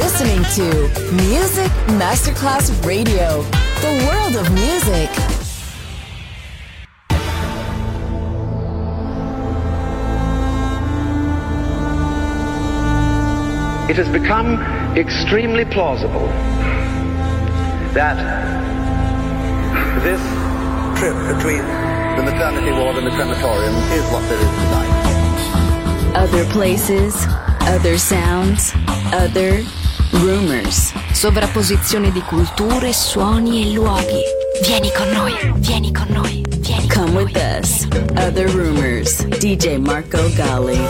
listening to Music Masterclass Radio, the world of music. It has become extremely plausible that this trip between the maternity ward and the crematorium is what there is tonight. Other places, other sounds, other rumors. Sovrapposizione di culture, suoni e luoghi. Vieni con noi, vieni con noi, vieni con Come noi. with us. Other rumors. DJ Marco Gally.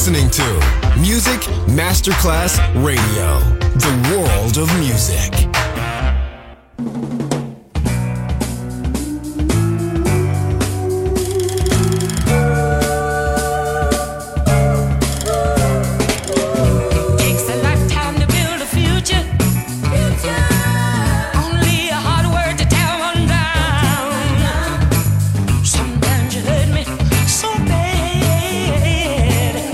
listening to Music Masterclass Radio, the world of music.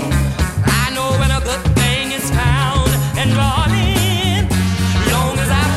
Long as I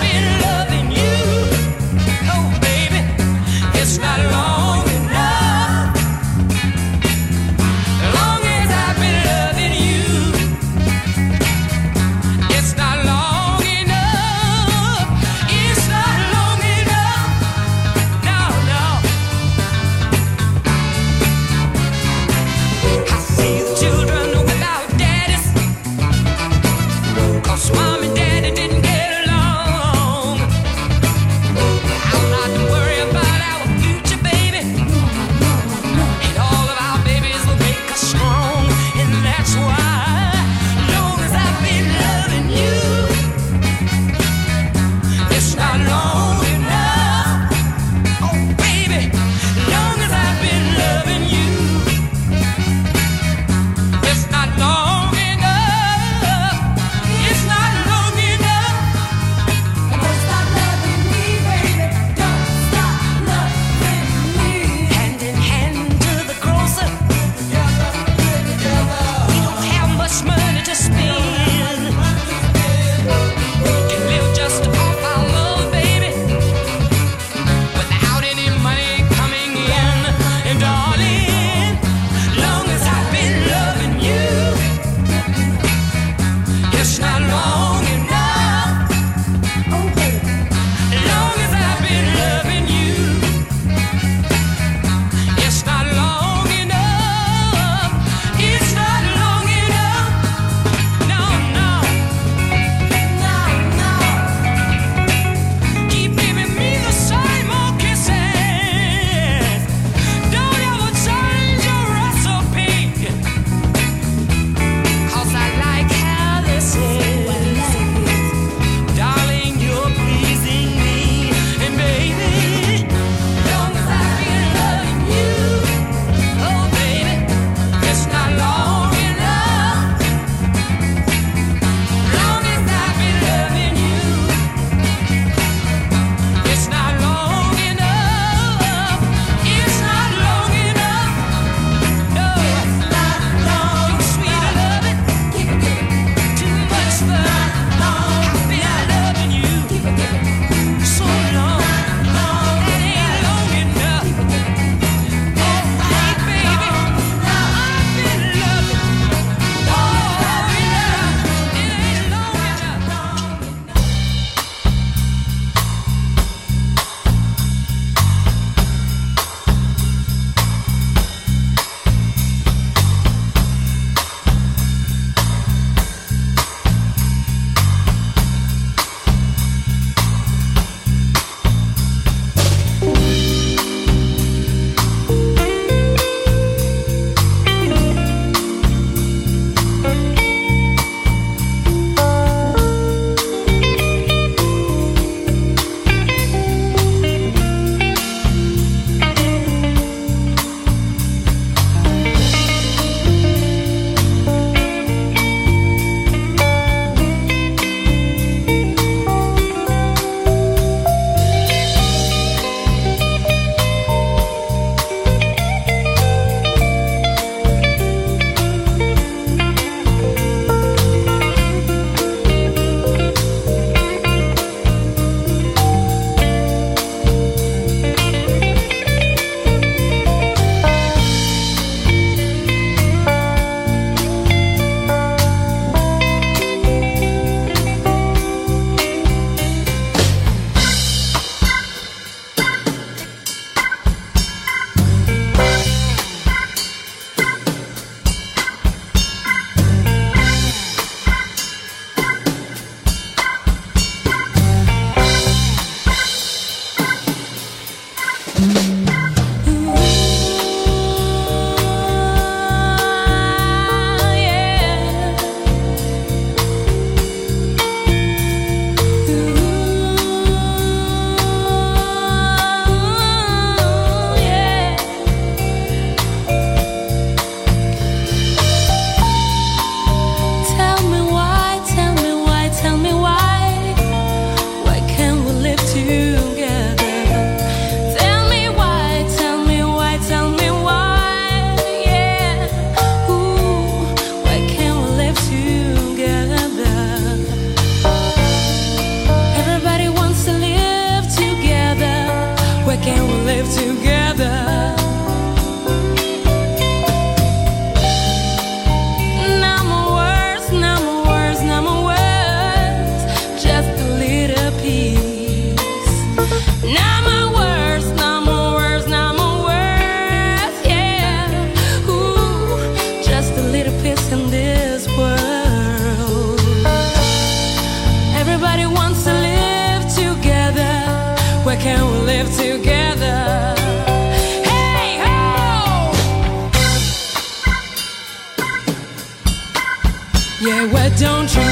Yeah, why don't you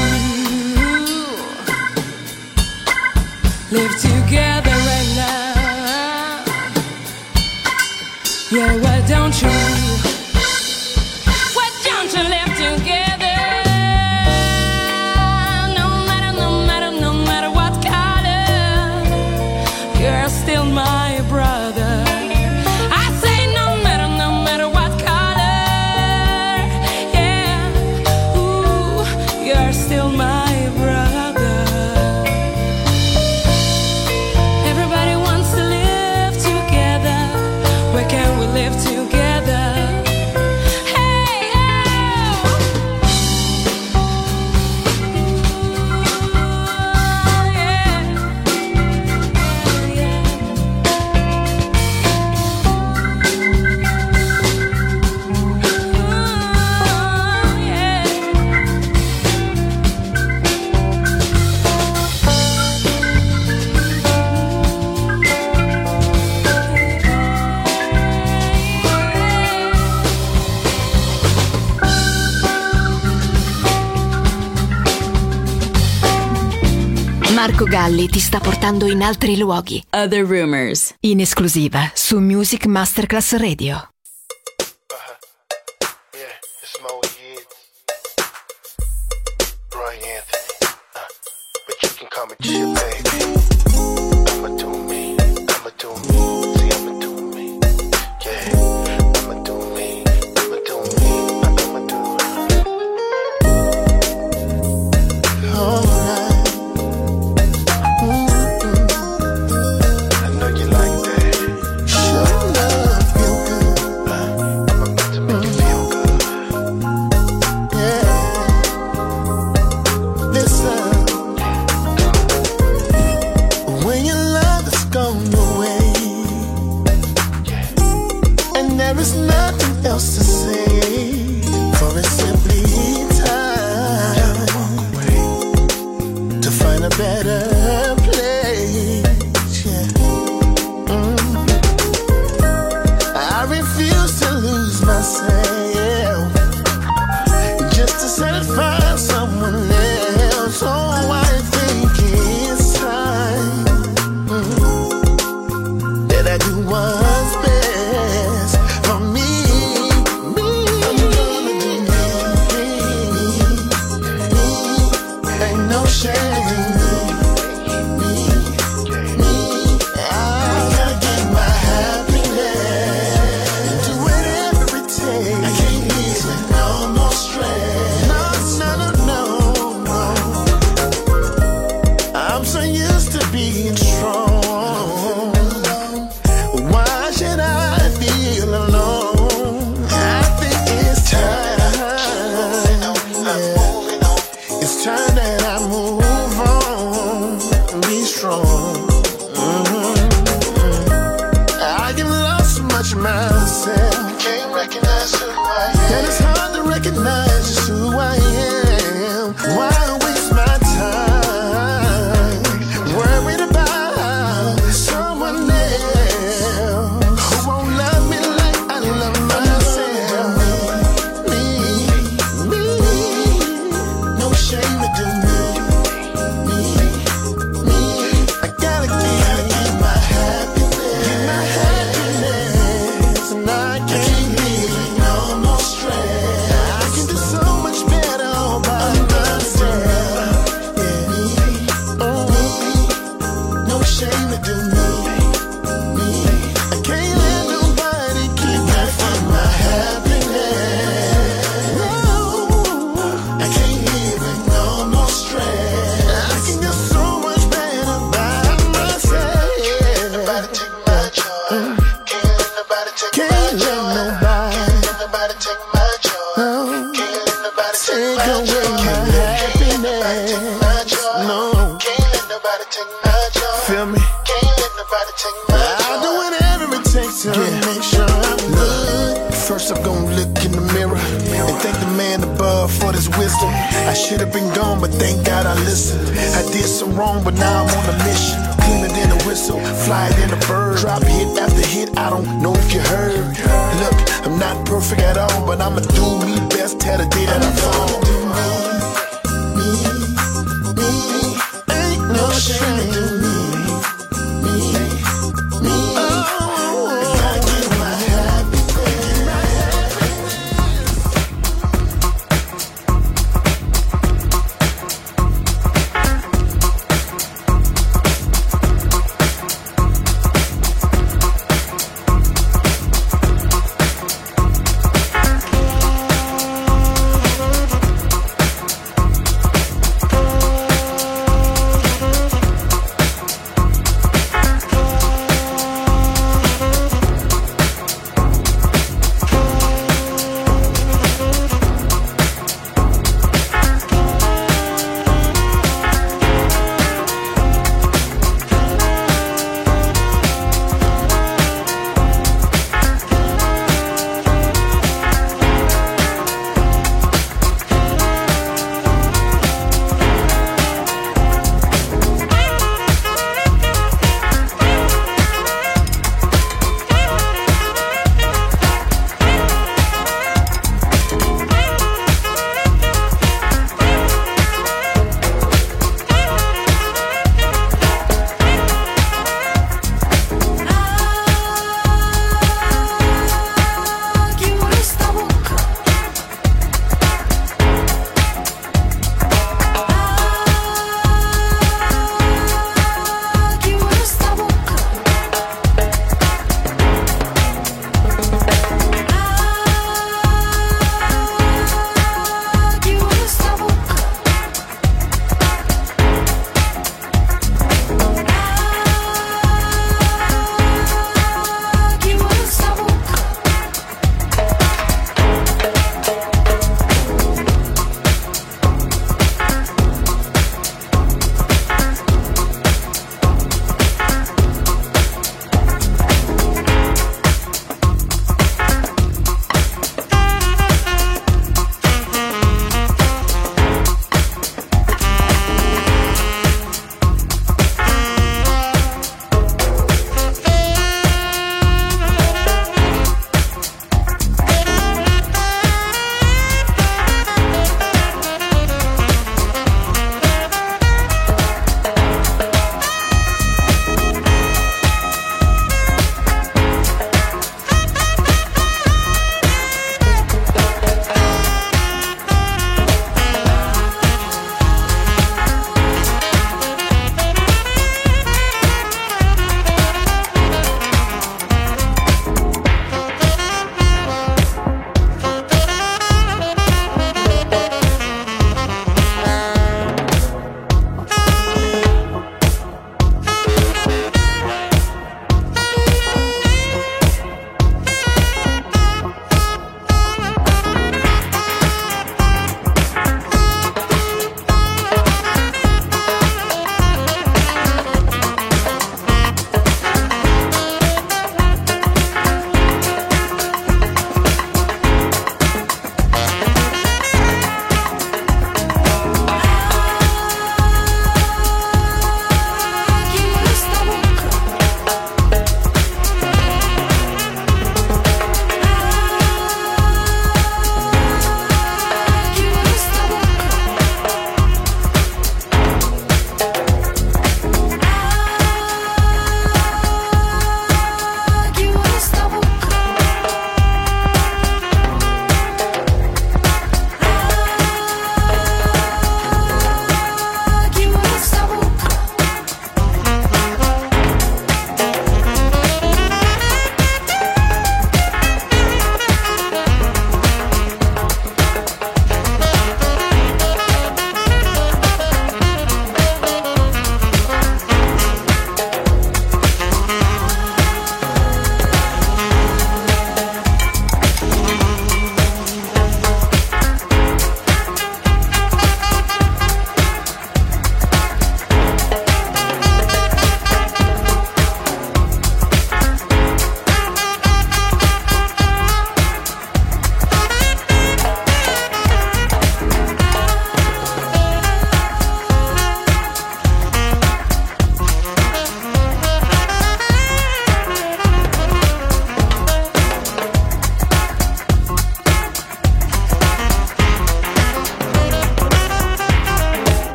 live together right now? Yeah, why don't you live together? No matter what color, you're still my brother. I say no matter what color, yeah, ooh, you're still my brother. Everybody wants to live together. Where can we live together? Marco Galli ti sta portando in altri luoghi. Other Rumors. In esclusiva su Music Masterclass Radio. Yeah, it's Mo Yeats. Roy Anthony. But you can call me Chip, baby. I'ma do me. See, I'ma do me. Yeah, I'ma do me. I'ma do me. Alright. To say, for it's simply time to find a better place. Yeah. I refuse to lose myself just to satisfy someone else. Oh, I think it's time that I do what's best for me. Look, I'm not perfect at all, but I'ma do me best. Tell the day that I fall.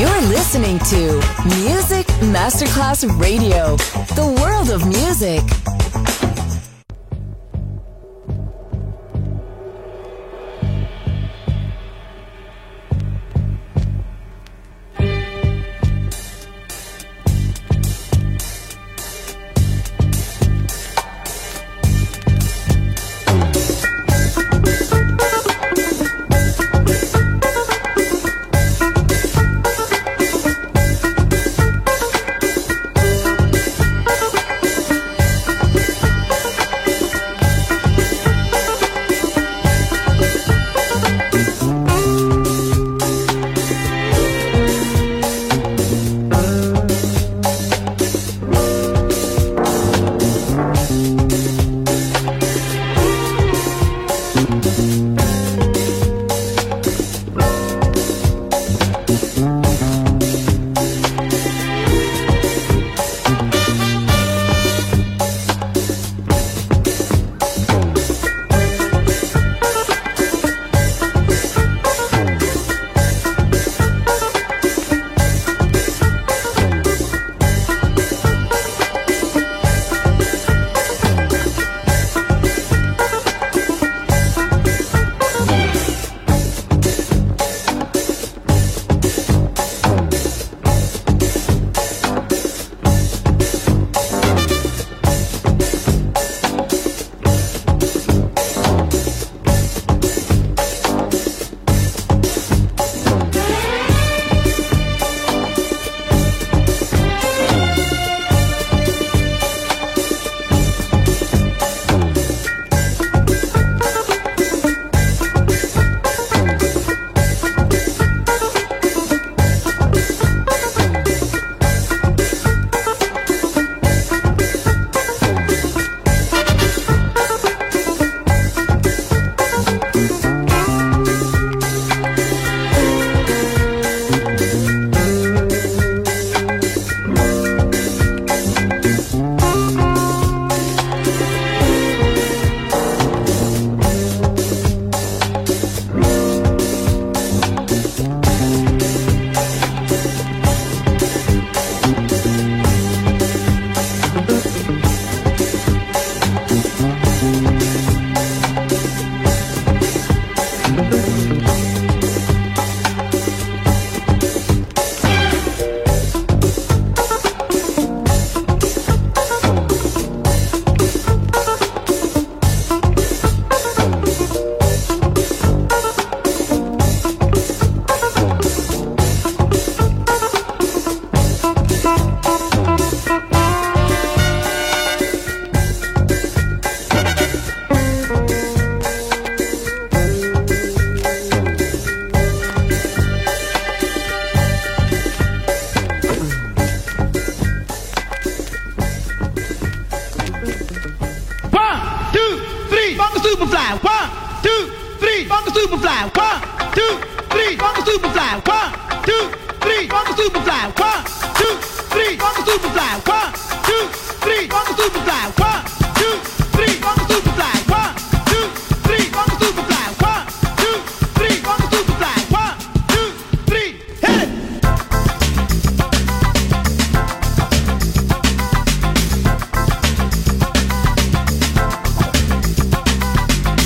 You're listening to Music Masterclass Radio, the world of music.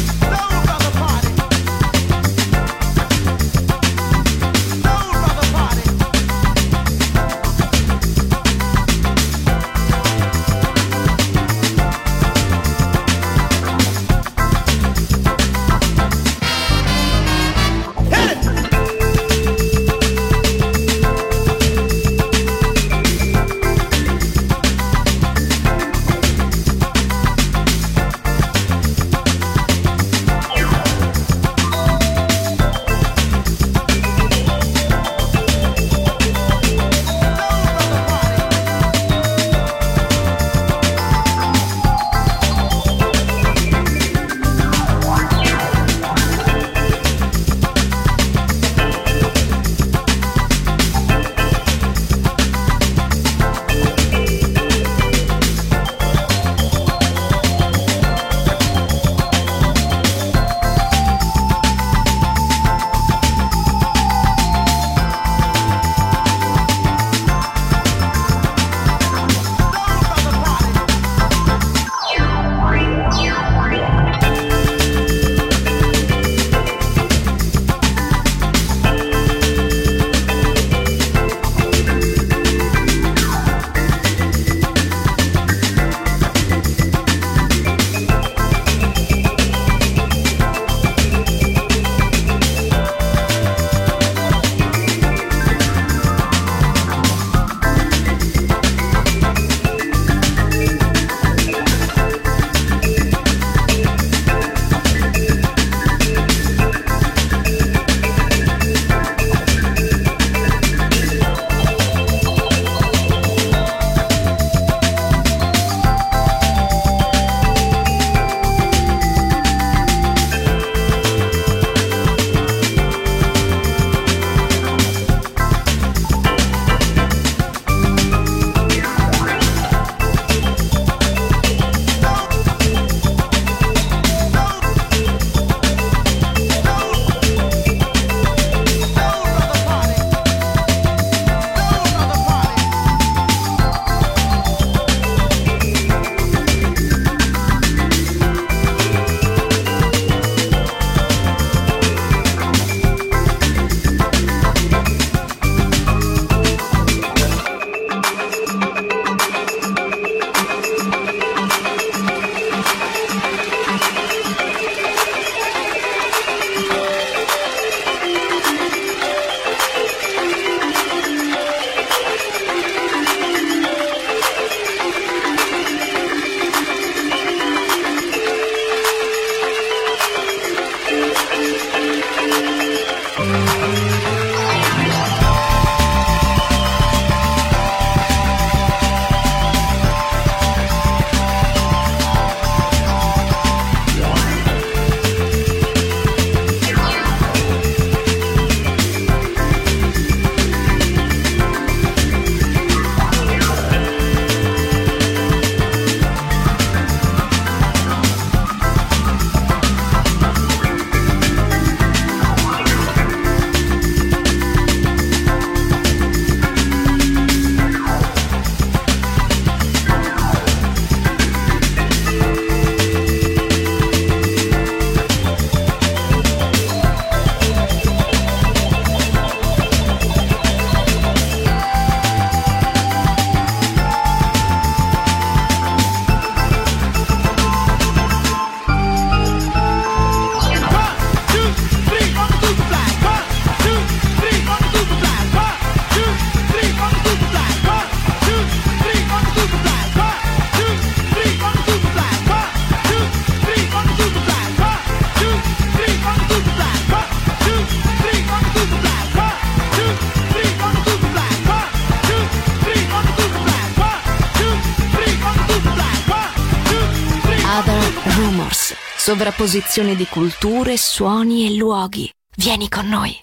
Party. Records. Sovrapposizione di culture, suoni e luoghi. Vieni con noi.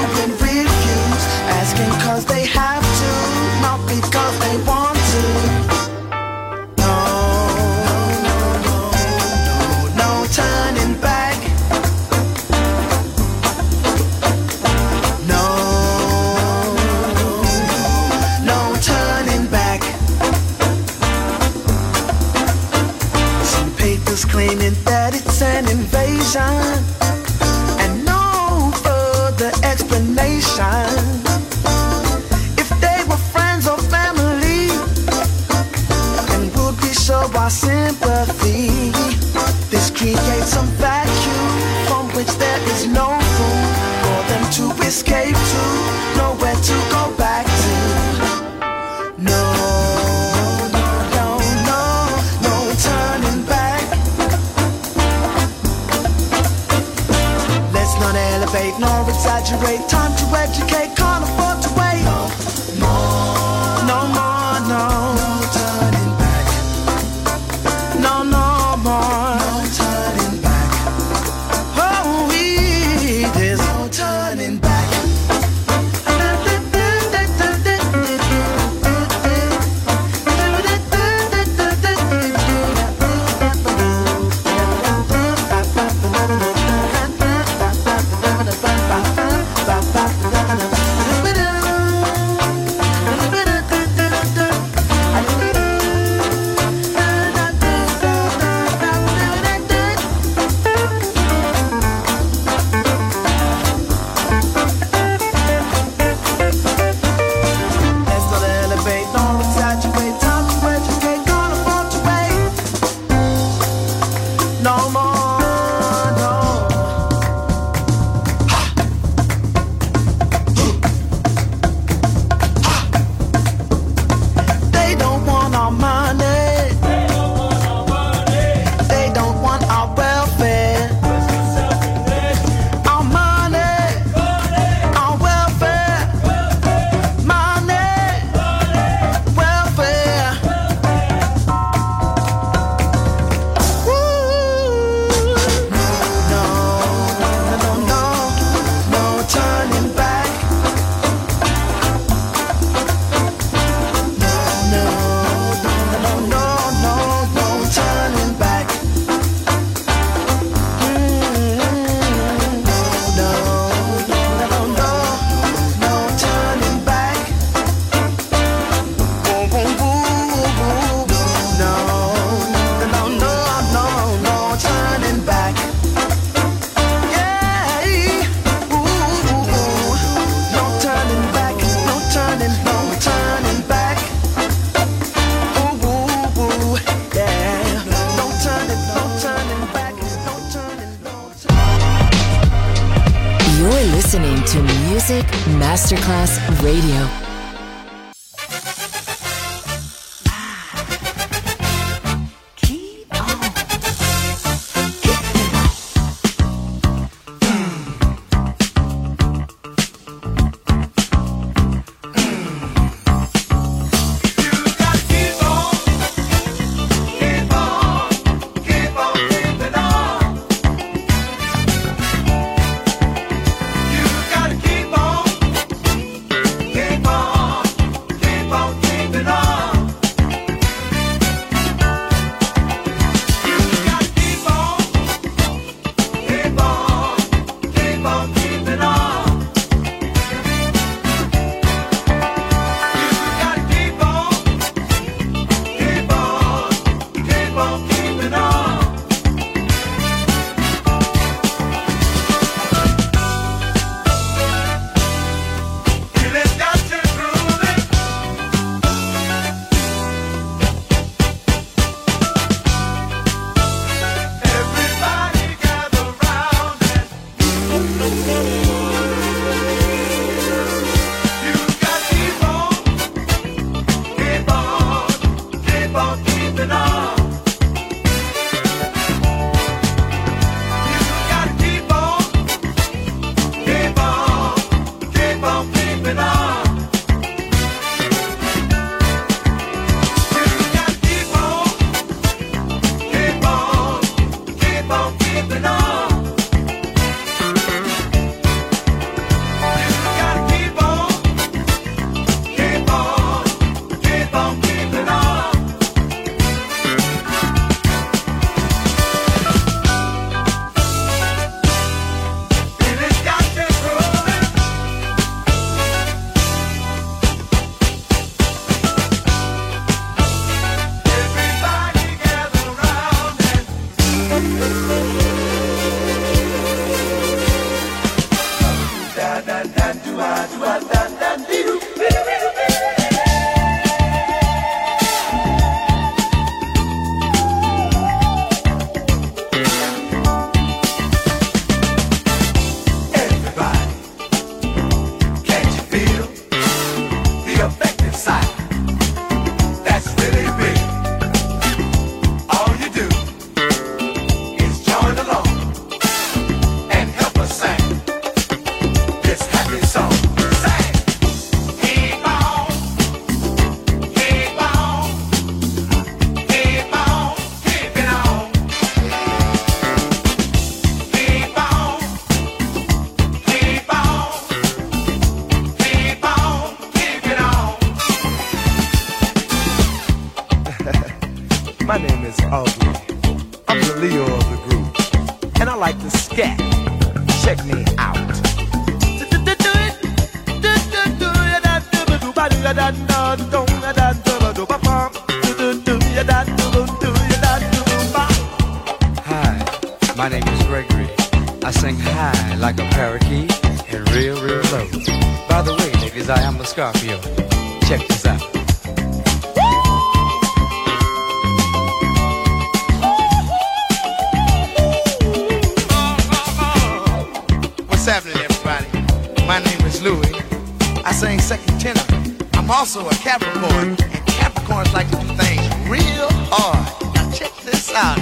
Asking 'cause they have to, not because they want to. to escape to, nowhere to go back to. No, no, no, no, no turning back. Let's not elevate nor exaggerate. Time to educate, can't afford to wait. No more, no more, no, no turning back. No, no more, no turning back. Oh, there's no turning back. Listening to Music Masterclass Radio. that. Check me out. Hi, my name is Gregory. I sing high like a parakeet and real low. By the way, ladies, I am a Scorpio. Check this out. What's happening, everybody? My name is Louis. I sing second tenor. I'm also a Capricorn, and Capricorns like to do things real hard. Now check this out.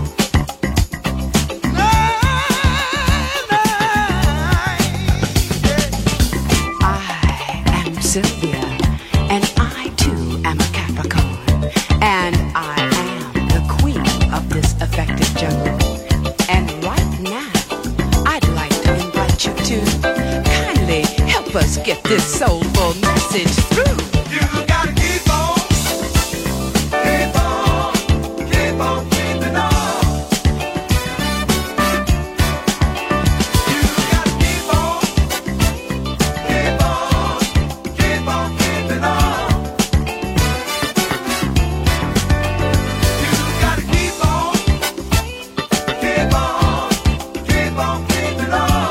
I am Sylvia, and I too am a Capricorn, and I am the queen of this effective jungle. And right now, I'd like to invite you to kindly help us get this soulful message through. You gotta keep on, keep on, keep on keeping on. You gotta keep on, keep on, keep on keeping on. You gotta keep on, keep on, keep on keeping on.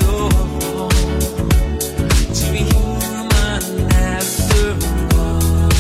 Is it so wrong to be human after all?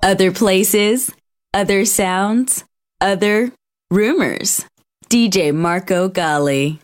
Other places, other sounds, other rumors. DJ Marco Gally.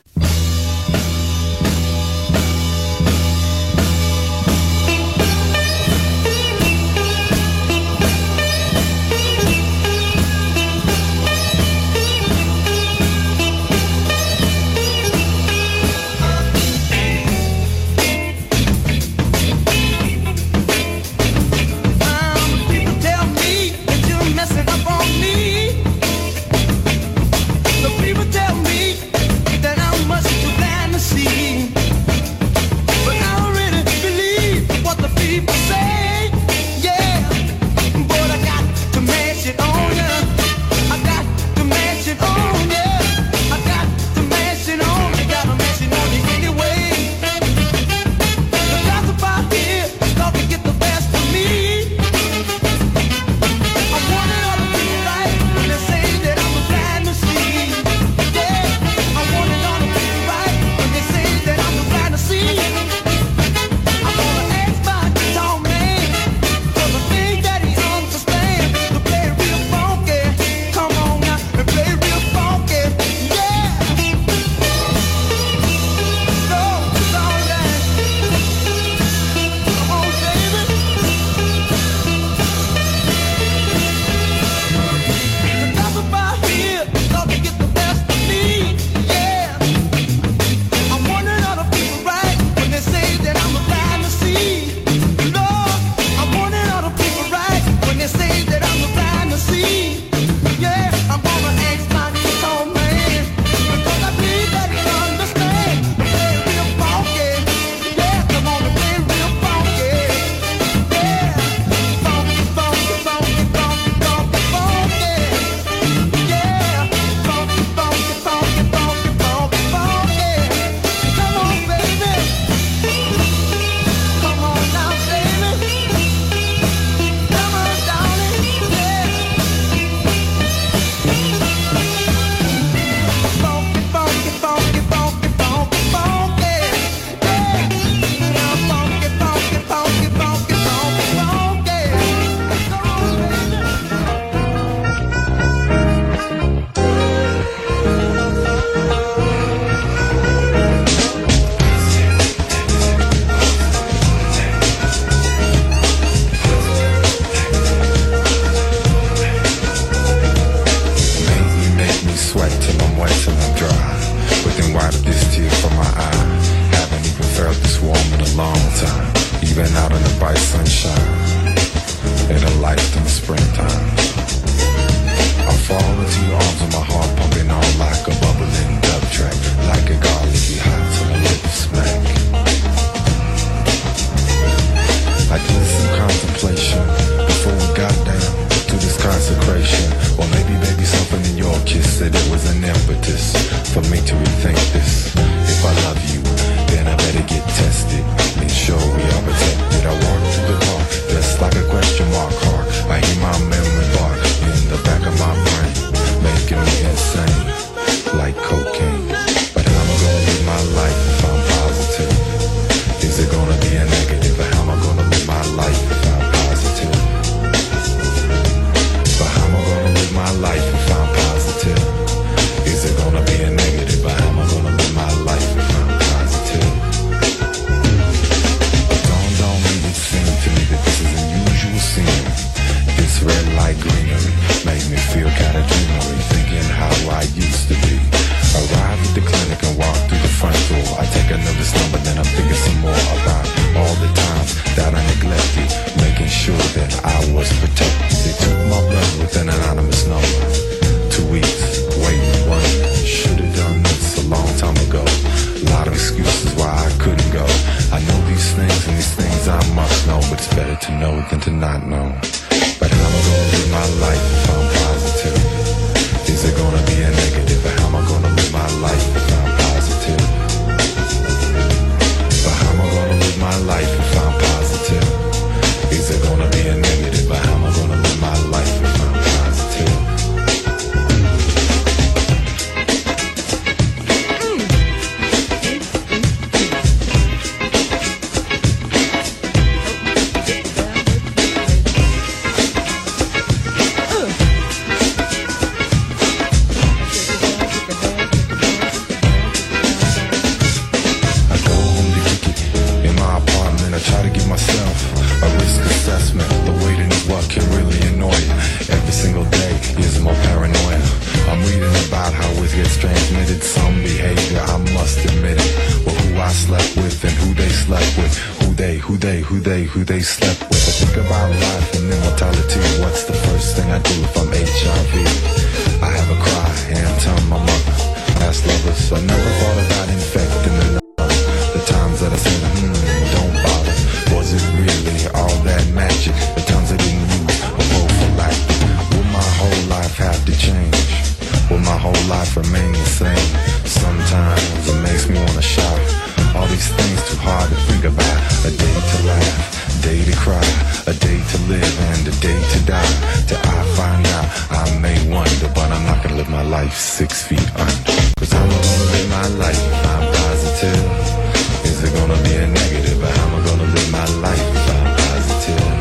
slept with and who they slept with. Who they slept with. I think about life and immortality. What's the first thing I do if I'm HIV? I have a cry and tell my mother. Past lovers, I never thought about infecting another. The times that I said, don't bother. Was it really all that magic? The times I didn't use a prophylactic. Will my whole life have to change? Will my whole life remain the same? Sometimes it makes me wanna shout. All these things too hard to think about. A day to laugh, a day to cry, a day to live and a day to die. Till I find out, I may wonder, but I'm not gonna live my life 6 feet under. Cause I'm gonna live my life if I'm positive. Is it gonna be a negative? But how am I gonna live my life if I'm positive?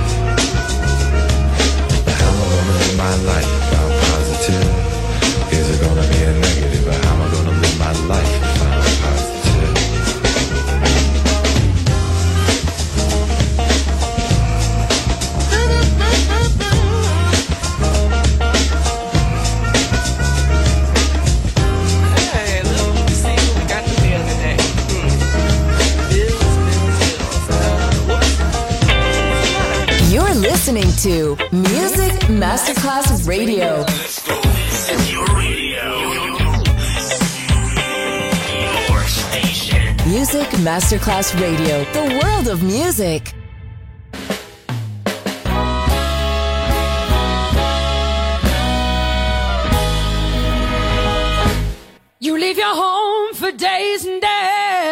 But how am I gonna live my life if I'm positive? Is it gonna be a negative? But how am I gonna live my life if I'm positive? You're listening to Music Masterclass Radio. Your radio. Your station. Music Masterclass Radio. The world of music. You leave your home for days and days,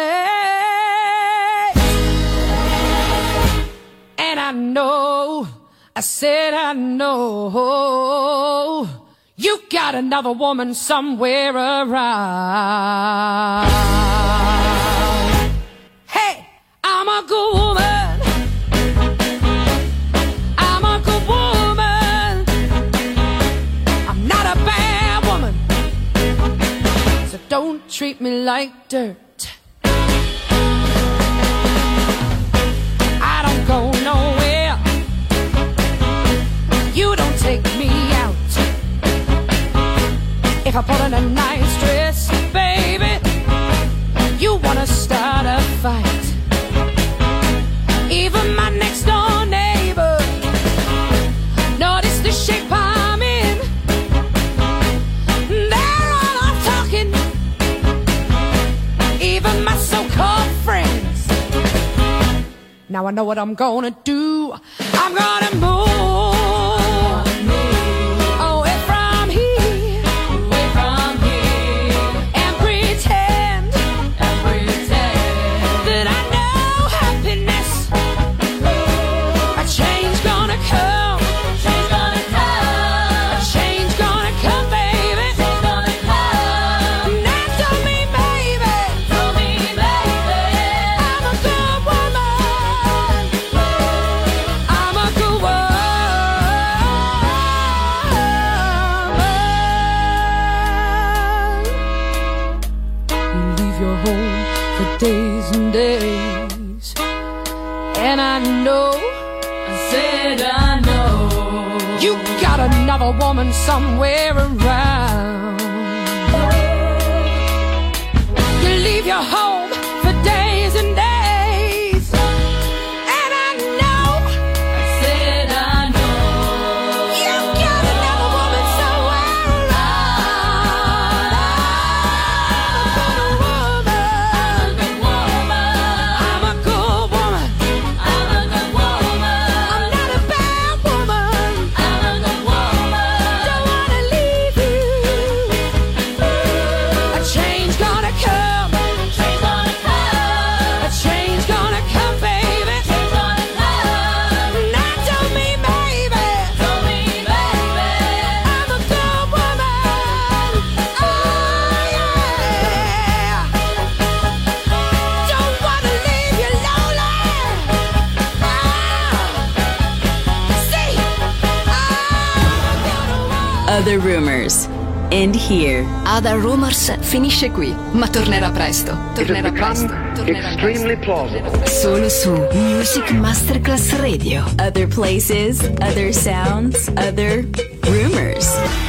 and I know, I said I know, you got another woman somewhere around. Hey, I'm a good woman, I'm a good woman, I'm not a bad woman, so don't treat me like dirt. I don't go nowhere, you don't take me out. If I put on a nice dress, baby, you wanna start a fight. Even my next door neighbor noticed the shape I'm in. They're all off talking, even my so-called friends. Now I know what I'm gonna do. I'm gonna move away from here, and pretend that I know happiness. A change gonna come, a change gonna come, baby. Now tell me, baby, I'm a good woman, I'm a good woman. You leave your home for days and days, and I know, I said I know, you got another woman somewhere around. You leave your home for days and days, and I know, I said I know, you got another woman somewhere around. I'm a good woman, I'm not a bad woman, don't wanna leave you. A change gonna come, a change gonna come, baby. Now tell me, baby, I'm a good woman. Oh yeah, don't wanna leave you lonely. See, Other Rumors. End here. Other Rumors finisce qui, ma tornerà presto. Tornerà presto. Extremely plausible. Solo su Music Masterclass Radio. Other places, other sounds, other rumors.